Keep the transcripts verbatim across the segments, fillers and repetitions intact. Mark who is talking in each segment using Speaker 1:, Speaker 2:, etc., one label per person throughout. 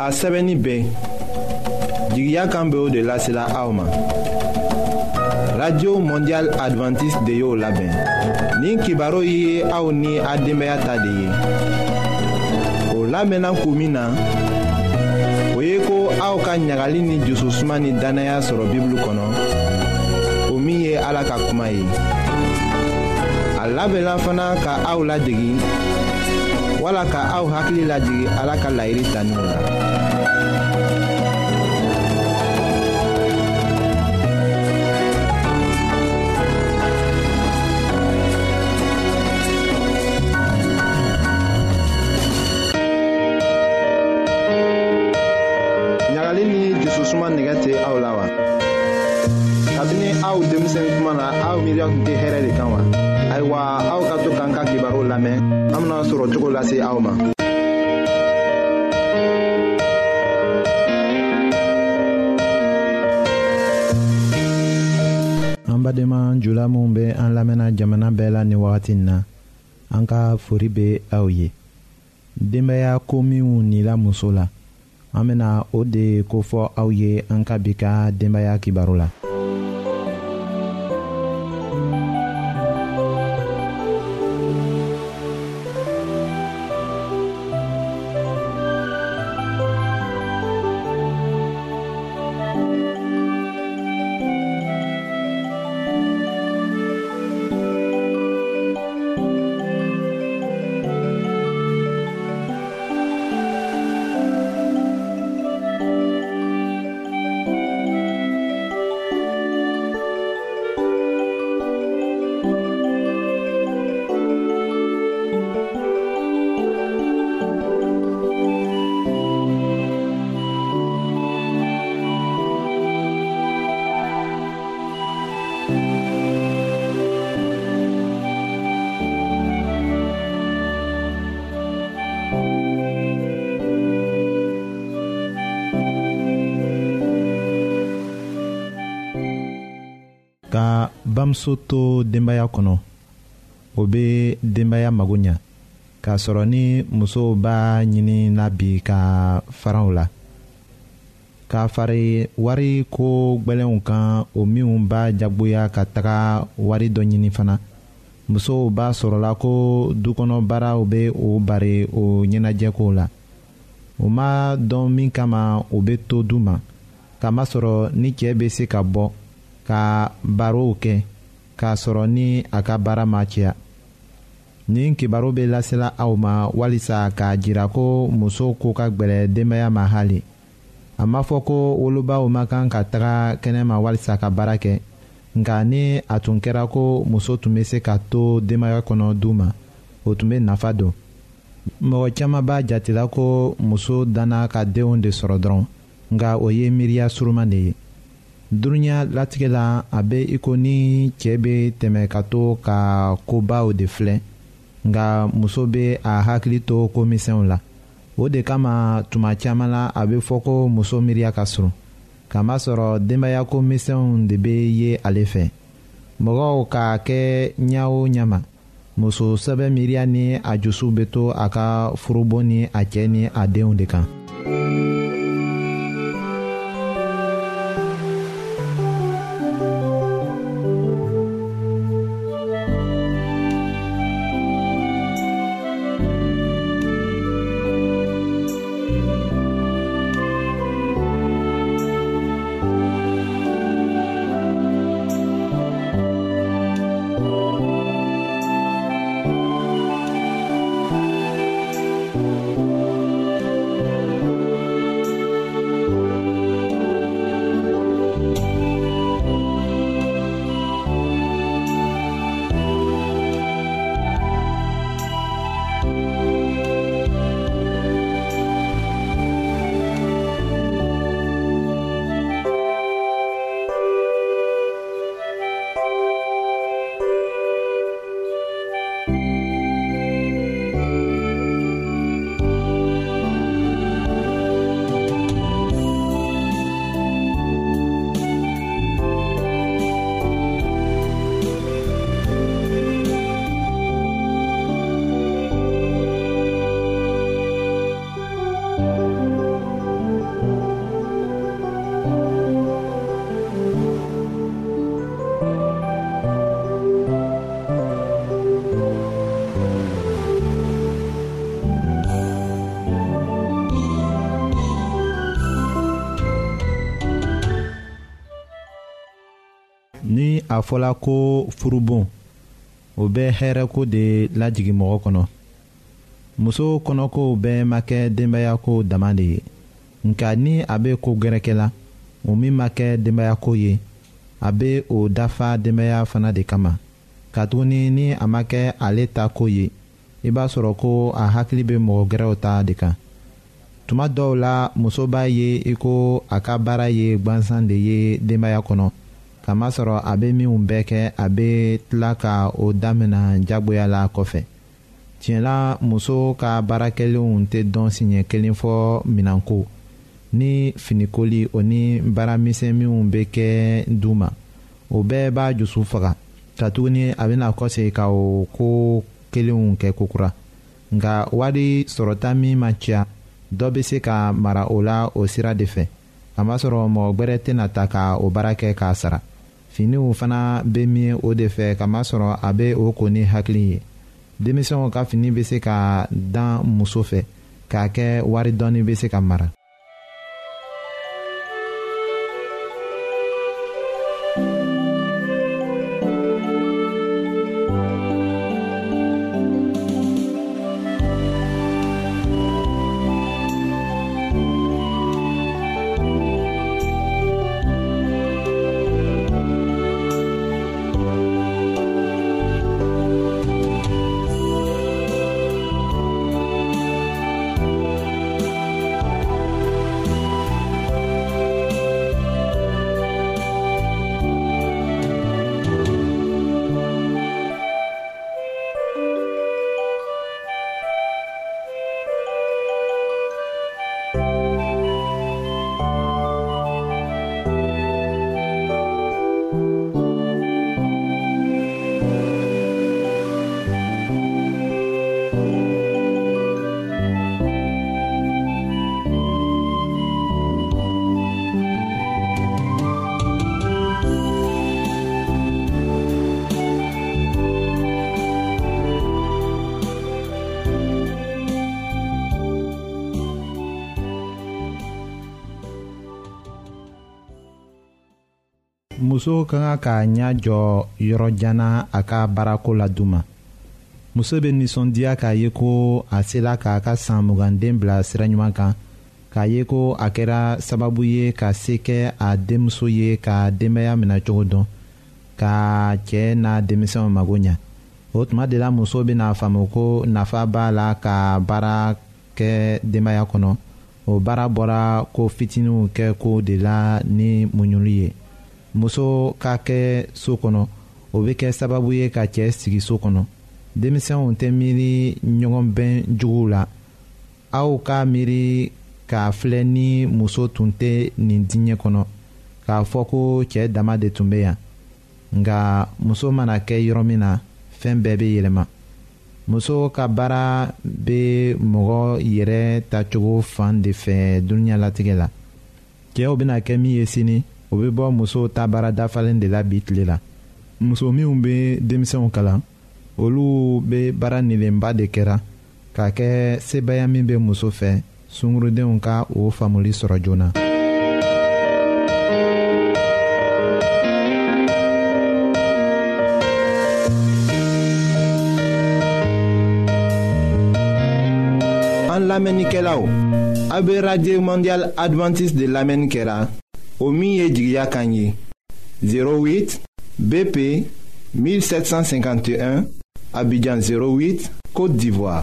Speaker 1: a sɛbɛnni bɛɛ jigiya kan bɛ o de lasela aw ma. Radio Mondial Adventiste de y'o labɛn. Nin kibaru ye aw ni a denbaya ta de ye. O labɛnna kun min na, o ye ko aw ka ɲagali ni jususuma ni danaya sɔrɔ Bible kɔnɔ, o min ye Ala ka kuma ye. A labɛnna fana ka aw ladege, wala ka aw hakili lajigi Ala ka laɲini taninw la. ɲagali ni jususuma nɛgɛ tɛ aw la wa? Kabini aw denmisɛn kuma na aw miiriya tun tɛ hɛrɛ de kan wa? Ayiwa, aw ka to k'an ka kibaru lamɛn, an bena sɔrɔ cogo lase aw ma.
Speaker 2: An badenma jula minnu bɛ an lamɛnna jamana bɛɛ la ni wagati in na, an ka fori bɛ aw ye. Denbaya ko minnu nila muso la, an bena o de kofɔ aw ye an ka bi ka denbaya kibaru la. Ka bamuso to denbaya kɔnɔ, o bɛ denbaya mago ɲa, k'a sɔrɔ ni muso b'a ɲini na bi ka fara o la, k'a fari wari ko gbɛlɛnw kan, o minnu b'a jagoya ka taga wari dɔ ɲini fana. Musow b'a sɔrɔla ko dukɔnɔ baaraw bɛ o bari o ɲɛnajɛkow la. O ma dɔn min kama o bɛ to du ma, kamasɔrɔ ni cɛ bɛ se ka bɔ ka barow kɛ, k'a sɔrɔ ni a ka baara ma cɛya. Nin kibaru bɛ lasela aw ma walisa k'a jira ko muso ko ka gbɛlɛ denbaya ma hali. A ma fɔ ko wolobaw ma kan ka taga kɛnɛma walisa ka baara kɛ, nka ni a tun kɛra ko muso tun bɛ se ka to denbaya kɔnɔ du ma, o tun bɛ nafa don. Mɔgɔ caman b'a jatela ko muso danna ka denw de sɔrɔ dɔrɔn, nka o ye miiriya suruman de ye. Dunuya latigɛ la, a bɛ i ko ni cɛ bɛ tɛmɛ ka to ka kobaw de filɛ, nka muso bɛ a hakili to komisɛnw la. O de kama tuma caman la a bɛ fɔ ko muso miiriya ka surun, kamasɔrɔ denbaya komisɛnw de bɛ ye ale fɛ. Mɔgɔw k'a kɛ ɲa o ɲa ma, muso sɛbɛ miiriya ni a jusu bɛ to a ka furubon ni a cɛ ni a denw de kan. a fɔla ko furubon o bɛ hɛrɛko de lajigi mɔgɔ kɔnɔ. Muso kɔnɔko bɛɛ ma kɛ denbayako dama de ye, nka ni a bɛ ko gɛrɛkɛ la o min ma kɛ denbayako ye a bɛ o dafa denbaya fana de kama. Katuguni ni a ma kɛ ale ta ko ye i b'a sɔrɔ ko a hakili bɛ mɔgɔ gɛrɛw ta de kan. Tuma dɔw la muso b'a ye i ko a ka baara ye gwansan de ye denbaya kɔnɔ, kamasɔrɔ a bɛ minnu bɛɛ kɛ a bɛ tila ka o damina jagoya la kɔfɛ. Tiɲɛla muso ka baarakɛlenw tɛ dɔn siɲɛ kelen fɔ minanko ni finikoli o ni baaramisɛn minnu bɛ kɛ du ma, o bɛɛ b'a dusu faga. Katuguni a bɛna kɔsegin ka o ko kelenw kɛ kokura. Nka wari sɔrɔta min ma ca dɔ bɛ se ka mara o la o sira de fɛ, kamasɔrɔ mɔgɔ gbɛrɛ tɛna ta ka o baara kɛ k'a sara. Finiw fana bɛ min o de fɛ, kamasɔrɔ a bɛ o ko ni hakili ye. Denmisɛnw ka fini bɛ se ka dan muso fɛ k'a kɛ wari dɔɔni bɛ se ka mara. Muso ka kan ka ɲɛ jɔ yɔrɔjanna a ka baarako la duma. Muso bɛ nisɔndiya k'a ye ko a sela k'a ka san muganden bila sira ɲuman kan, k'a ye ko a kɛra sababu ye ka se kɛ a denmuso ye ka denbaya minɛ cogo dɔn, ka cɛ n'a denmisɛnw mago ɲa. O tuma de la muso bɛna faamu ko nafa b'a la ka baara kɛ denbaya kɔnɔ. O baara bɔra ko fitininw kɛ ko de la ni muɲuli ye. Muso ka kɛ so kɔnɔ o bɛ kɛ sababu ye ka cɛ sigi so kɔnɔ. Denmisɛnw tɛ miiri ɲɔgɔn bɛn juguw la. Aw ka miiri k'a filɛ ni muso tun tɛ nin diɲɛ kɔnɔ, k'a fɔ ko cɛ dama de tun bɛ yan. Nka muso mana kɛ yɔrɔ min na fɛn bɛɛ bɛ yɛlɛma. Muso ka baara bɛ mɔgɔ yɛrɛ tacogo fan de fɛ dunuya latigɛ la. Cɛw bɛna kɛ min ye sini o bɛ bɔ muso ta baara dafalen de la bi tile la. Muso minnu bɛ denmisɛnw kalan olu bɛ baara nilenba de kɛra k'a kɛ sebaya min bɛ muso fɛ sungurudenw ka o faamuli sɔrɔ joona.
Speaker 1: An lamɛnnikɛlaw, a bɛ radio mondial adventiste de lamɛnni kɛra o min ye jigiya kan ye zéro huit B P mille sept cent cinquante et un Abidjan zéro huit Côte d'Ivoire.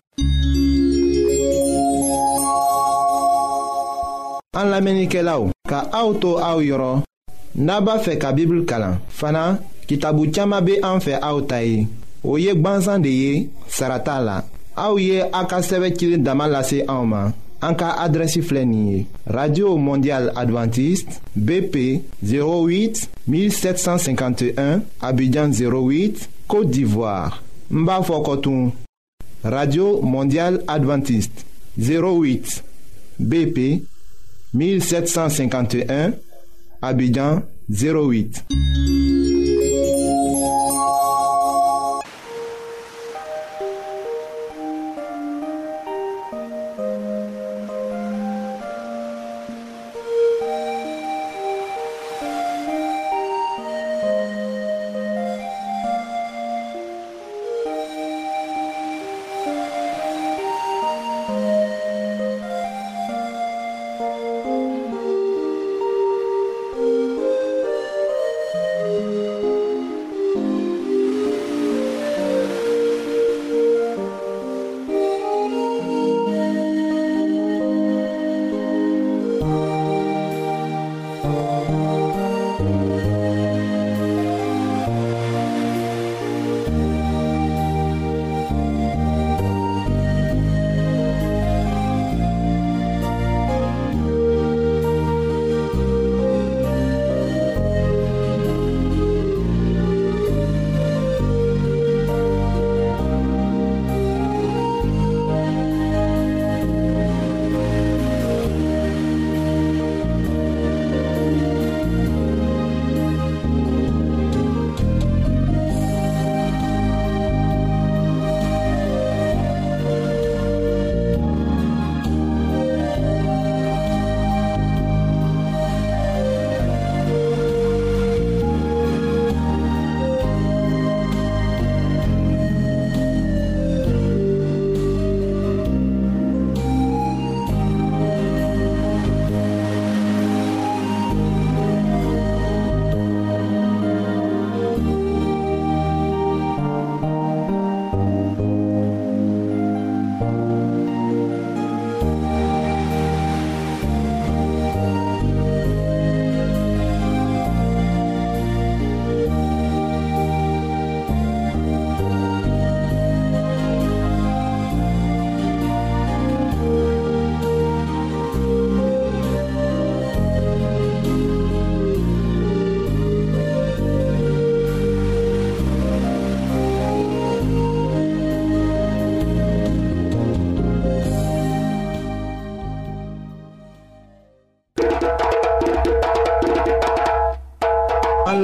Speaker 1: An lamɛnnikɛlaw, ka aw to aw yɔrɔ n'a b'a fɛ ka Bible kalan fana kitabu caman bɛ an fɛ aw ta ye. O ye gwansan de ye, sara t'a la. Aw ye a ka sɛbɛn cilen dama lase anw ma. An ka adrɛsi filɛ nin ye: Radio Mondial Adventiste B P zéro huit mille sept cent cinquante et un Abidjan zéro huit Côte d'Ivoire. N b'a fɔ kɔtun: Radio Mondial Adventiste zéro huit B P mille sept cent cinquante et un Abidjan zéro huit.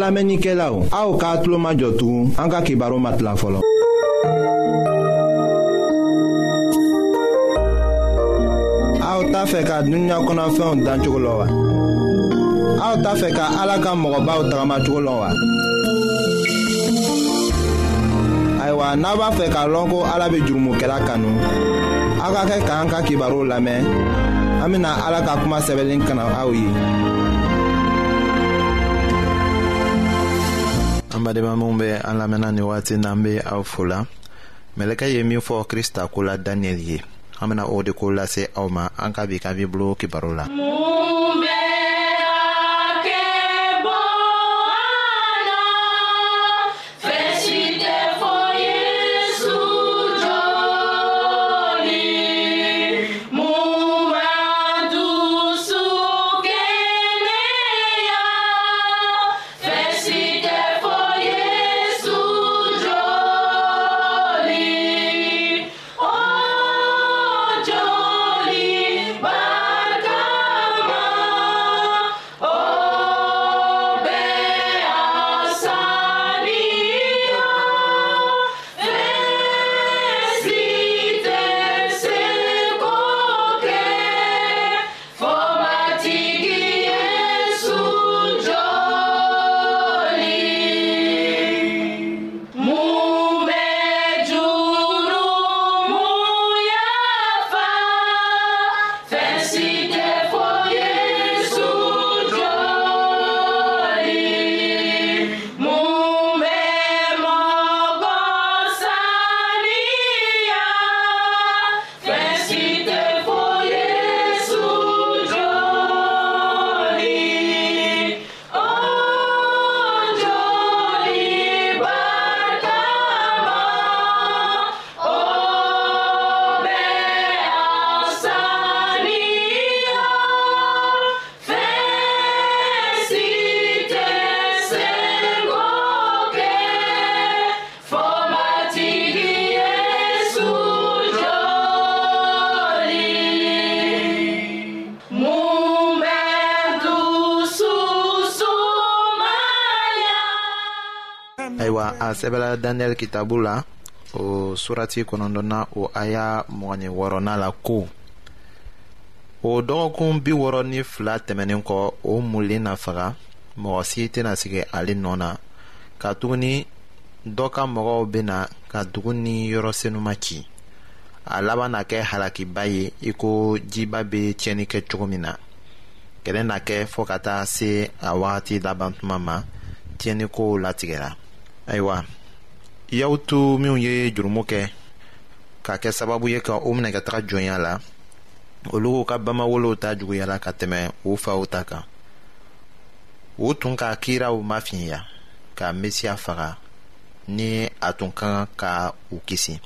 Speaker 1: lamɛnnikɛlaw, aw k'a tulo majɔ tugun an ka kibaru ma tila fɔlɔ. Aw t'a fɛ ka dunuya kɔnɔfɛnw dan cogo la wa? Aw t'a fɛ ka Ala ka mɔgɔbaw tagamacogo la wa? Ayiwa, n'a b'a fɛ k'a lɔn ko Ala bɛ jurumokɛla kanu, aw ka kɛ k'an ka kibaru lamɛn. An bɛna Ala ka kuma sɛbɛnlen kana aw ye.
Speaker 2: An badenma minnu bɛ an lamɛnna nin waati n'an bɛ aw fo la. Mɛlɛkɛ ye min fɔ Krista ko la Daniyɛli ye. An bɛna o de ko lase aw ma an ka bi ka Bibulu kibaru la. A sɛbɛla Daniyɛli kitabu la o surati kɔnɔntɔnna o aya mɔgɔni wɔɔrɔnan la ko o dɔgɔkun bi wɔɔrɔ ni fila tɛmɛnen kɔ o mulen na faga mɔgɔ si tɛna sigi ale nɔ na ka tuguni dɔ ka mɔgɔw bena ka dugu ni yɔrɔ senuma ci a laban na kɛ halakiba ye i ko jiba bɛ tiɲɛni kɛ cogo min na kɛlɛ na kɛ fɔɔ ka taa se a wagati laban tuma ma tiɲɛnikow latigɛra. Ayiwa, y'aw to minnu ye jurumu kɛ ka kɛ sababu ye ka o minɛ ka taga jɔnya la olu ka bamawolow ta juguya la ka tɛmɛ u faw ta kan u tun ka kiiraw mafinya ka Mesiya faga ni a tun ka kan ka u kisi.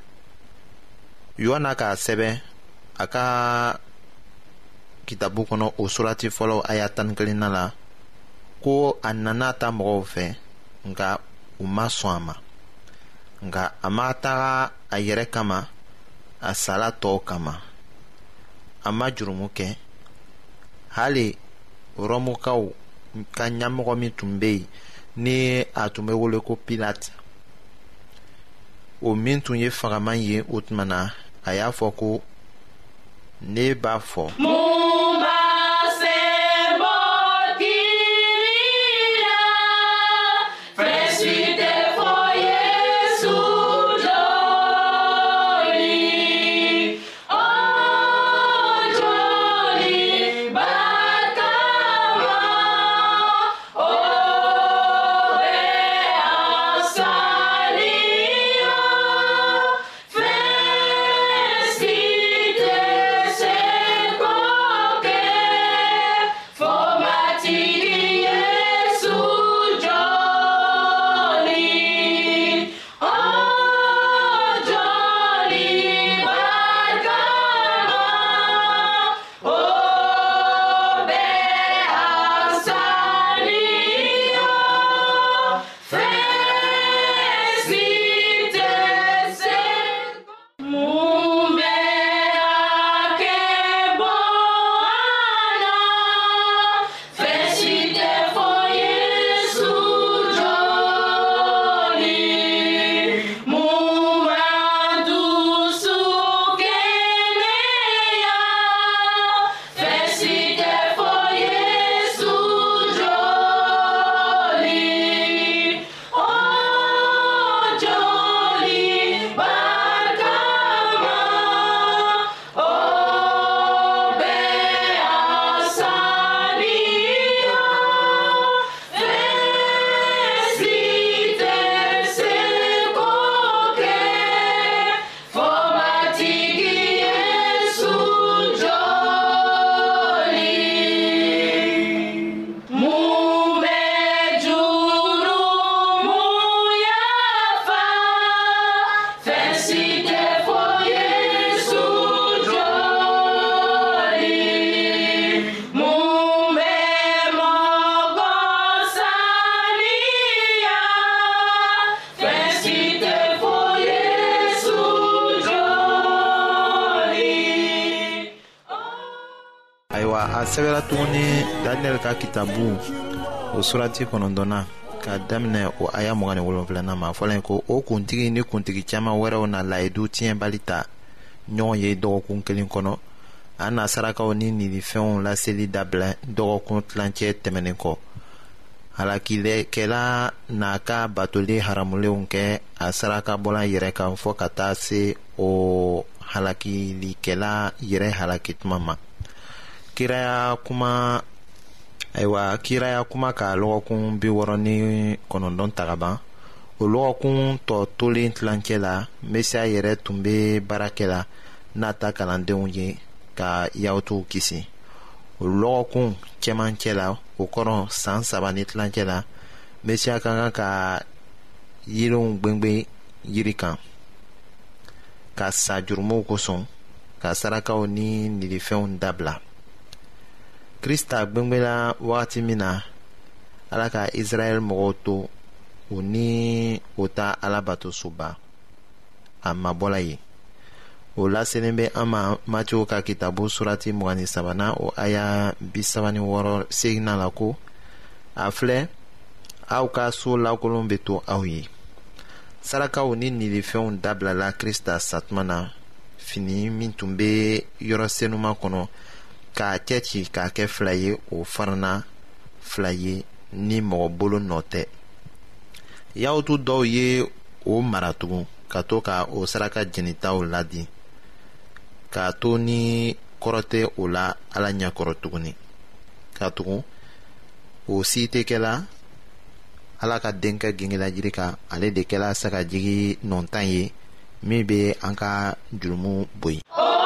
Speaker 2: Yohana k'a sɛbɛn a ka kitabu kɔnɔ o surati fɔlɔ aya tan ni kelenna la ko a nana ta mɔgɔw fɛ nka u ma sɔn a ma nka a ma taga a yɛrɛ kama a sala tɔw kama a ma jurumu kɛ hali Rɔmukaw ka ɲɛmɔgɔ min tun bɛ yen ni a tun bɛ wele ko Pilate o min tun ye fagaman ye o tuma na a y'a fɔ ko ne b'a fɔ a sɛbɛla tuguni Daniyɛli ka kitabu o surati kɔnɔntɔnna ka daminɛ o aya mugan ni wolonwulanan ma fɔla ko o kuntigi ni kuntigi caman wɛrɛw na layidu tiɲɛbali ta ɲɔgɔn ye dɔgɔkun kelen kɔnɔ. a na sarakaw ni nilifɛnw laseli dabila dɔgɔkun tilancɛ tɛmɛnen kɔ. halakilɛkɛla n'a ka batoli haramulenw kɛ a sarakabɔla yɛrɛ kan fɔ ka taa se o halakilikɛla yɛrɛ halaki tuma ma. kiraya kuma ayiwa kiraya kuma ka lɔgɔkun bi wɔɔrɔ ni kɔnɔntɔn ta ka ban. o lɔgɔkun tɔ tolen tilancɛ la mesiya yɛrɛ tun bɛ baarakɛ la n'a ta kalandenw ye ka yahudiw kisi. o lɔgɔkun cɛmancɛ la o kɔrɔ san saba ni tilancɛ la mesiya ka kan ka yiriw gwengbe yiri kan ka sa jurumuw kosɔn ka sarakaw ni nilifɛnw dabila. krista gbengbela wagati min na ala ka israɛl mɔgɔw to o ni o ta alabato soba a mabɔla ye. o laselen bɛ an ma Matiyu ka kitabu surati mugan ni sabanan o aya bi saba ni wɔɔrɔ seginna la ko a filɛ aw ka so lakolon bɛ to aw ye. sarakaw ni nilifɛnw dabilala krista satuma na fini min tun bɛ yɔrɔ senuma kɔnɔ k'a cɛci k'a kɛ fila ye o farana fila ye ni mɔgɔ bolo nɔ tɛ. yahudu dɔw ye o mara tugun ka to ka o saraka jenitaw ladi k'a to ni kɔrɔ tɛ o la ala ɲɛkɔrɔ tuguni. ka tugun o si tɛ kɛla ala ka denkɛ gengela jiri kan ale de kɛla sagajigi nɔntan ye min bɛ an ka jurumu boyi.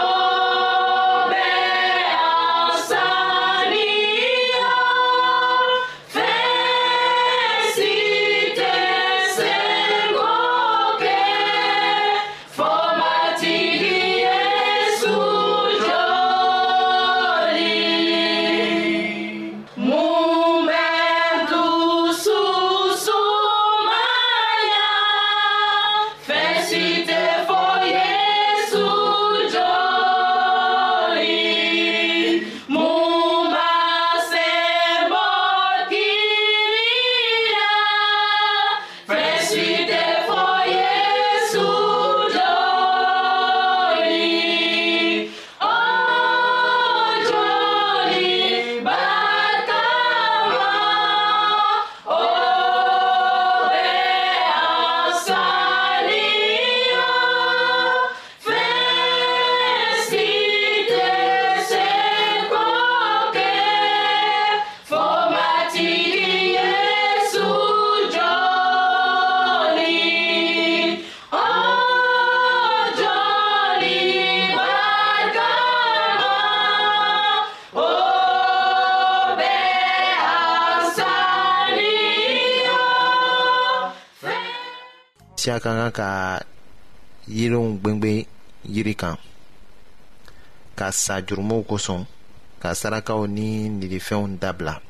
Speaker 2: mesiya ka kan ka yiriw gwengbe yiri kan ka sa jurumuw kosɔn ka sarakaw ni nilifɛnw dabila.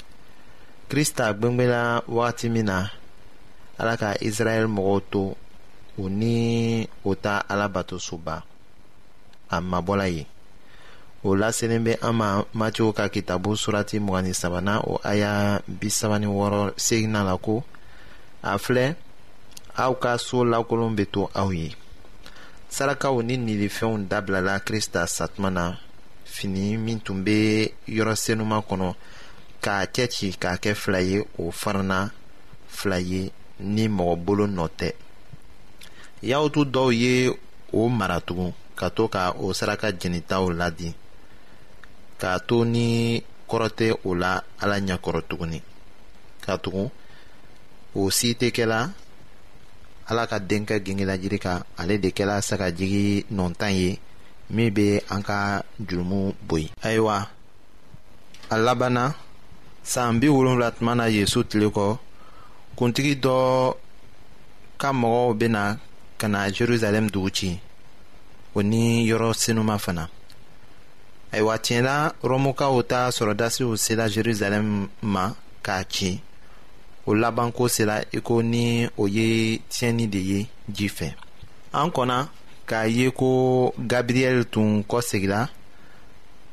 Speaker 2: krista gbengbela wagati min na ala ka israɛl mɔgɔw to o ni o ta alabato soba a mabɔla ye. o laselen bɛ an ma Matiyu ka kitabu surati mugan ni sabanan o aya bi saba ni wɔɔrɔ seginna la ko a filɛ aw ka so lakolon bɛ to aw ye. sarakaw ni nilifɛnw dabilala krista satuma na fini min tun bɛ yɔrɔ senuma kɔnɔ k'a cɛci k'a kɛ fila ye o farana fila ye ni mɔgɔ bolo nɔ tɛ. yahudu dɔw ye o mara tugun ka to ka o saraka jenitaw ladi k'a to ni kɔrɔ tɛ o la ala ɲɛkɔrɔ tuguni. ka tugun o si tɛ kɛla ala ka denkɛ gengela jiri kan ale de kɛla sagajigi nɔntan ye min bɛ an ka jurumu boyi. ayiwa a labanna san bi wolonwula tuma na yesu tile kɔ kuntigi dɔ ka mɔgɔw bɛna ka na jerusalem dugu ci o ni yɔrɔ senuma fana. ayiwa tiɲɛla rɔmukaw ta sɔrɔdasiw sela jerusalem ma k'a ci. o labanko sera iko ni o ye tiɲɛni de ye ji fɛ. an kɔnna k'a ye ko gabriyɛli tun kɔsegila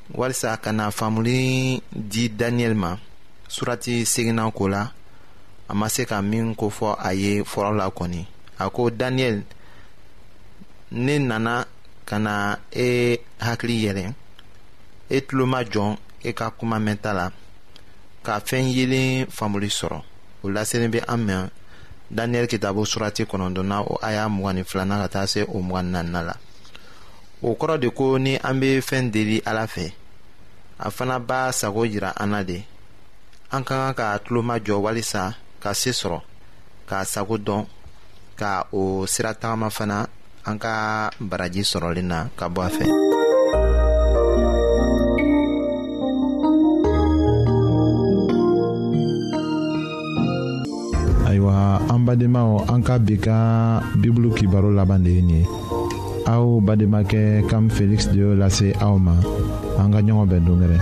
Speaker 3: walisa ka na faamuli di Daniel ma surati seginnan ko la a ma se ka min kofɔ a ye fɔlɔ la kɔni. A ko Daniel, ne nana ka na e hakili yɛlɛ, e tulo ma jɔn e ka kuma mɛnta la, ka fɛn yelen faamuli sɔrɔ. O laselen bɛ an mɛn Daniel kitabu surati kɔnɔntɔnna o aya mugan ni filanan ka taa se o mugan ni naaninan la. O kɔrɔ de ko ni an bɛ fɛn deli Ala fɛ, a fana b'a sago jira an na de. An ka kan ka tulo ma jɔ walisa ka se sɔrɔ, k'a sago dɔn, ka o sira tagama fana an ka baraji sɔrɔlen na ka bɔ a fɛ.
Speaker 2: Ayiwa, an badenmaw, an ka bi ka Bibulu kibaro laban de ye nin ye. Aw bademakɛ Kam Felix de y'o lase aw ma. An ka ɲɔgɔn bɛn dongɛrɛ.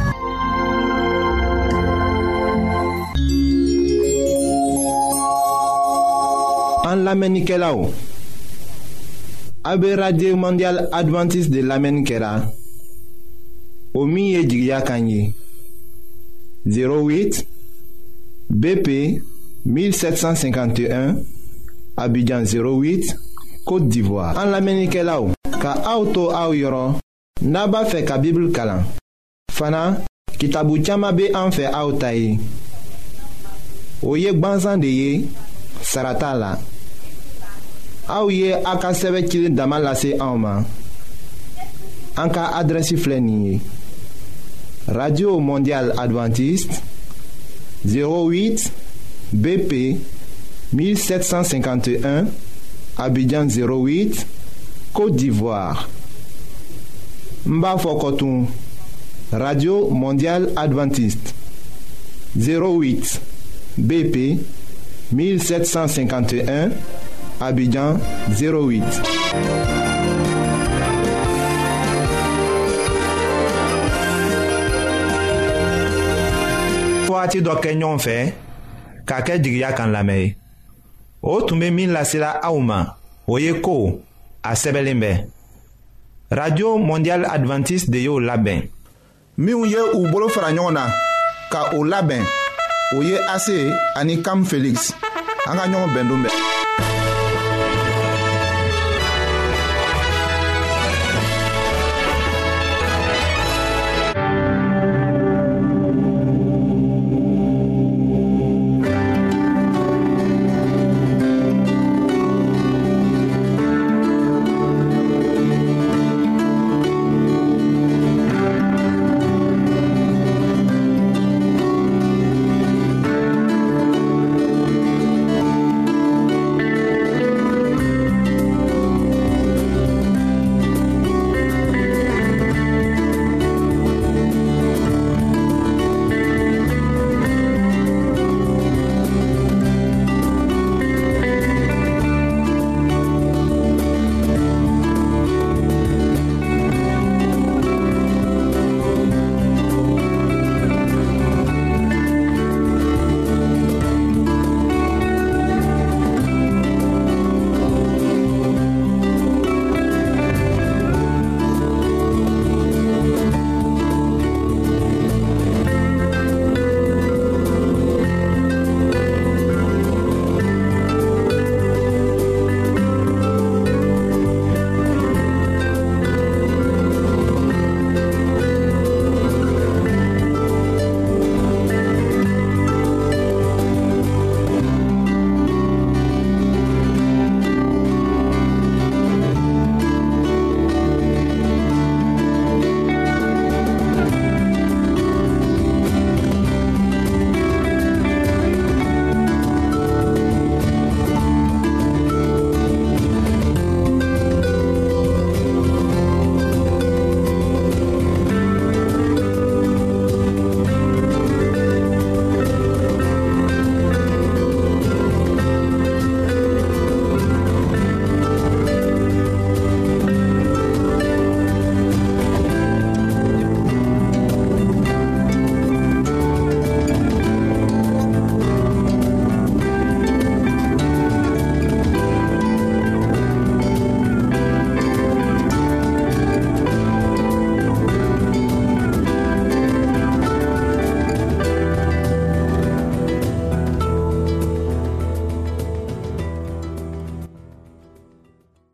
Speaker 1: An lamɛnnikɛlaw, a bɛ Radio Mondial Adventiste de lamɛnni kɛra o min ye jigiya kan ye zéro huit B P mille sept cent cinquante et un Abidjan zéro huit Côte d'Ivoire. An lamɛnnikɛlaw, ka aw to aw yɔrɔ n'a b'a fɛ ka Bible kalan. Fana kitabu caman bɛ an fɛ aw ta ye. O ye gwanzan de ye, sara t'a la. Aw ye a ka sɛbɛn cilen dama lase anw ma. An ka adrɛsi filɛ nin ye: Radio Mondial Adventiste zéro huit B P mille sept cent cinquante et un Abidjan zéro huit Côte d'Ivoire. N b'a fɔ kɔtun: Radio Mondial Adventiste zéro huit B P mille sept cent cinquante et un Abidjan zéro huit.
Speaker 2: Waati dɔ kɛ ɲɔgɔn fɛ k'a kɛ jigiya kan lamɛn ye. O tun bɛ min lasela aw ma, o ye ko a sɛbɛnlen bɛ. Radio Mondial Adventiste de y'o labɛn.
Speaker 1: Minnu ye u bolo fara ɲɔgɔn na ka o labɛn, o ye A C ani Kam Felix. An ka ɲɔgɔn bɛn don bɛɛ.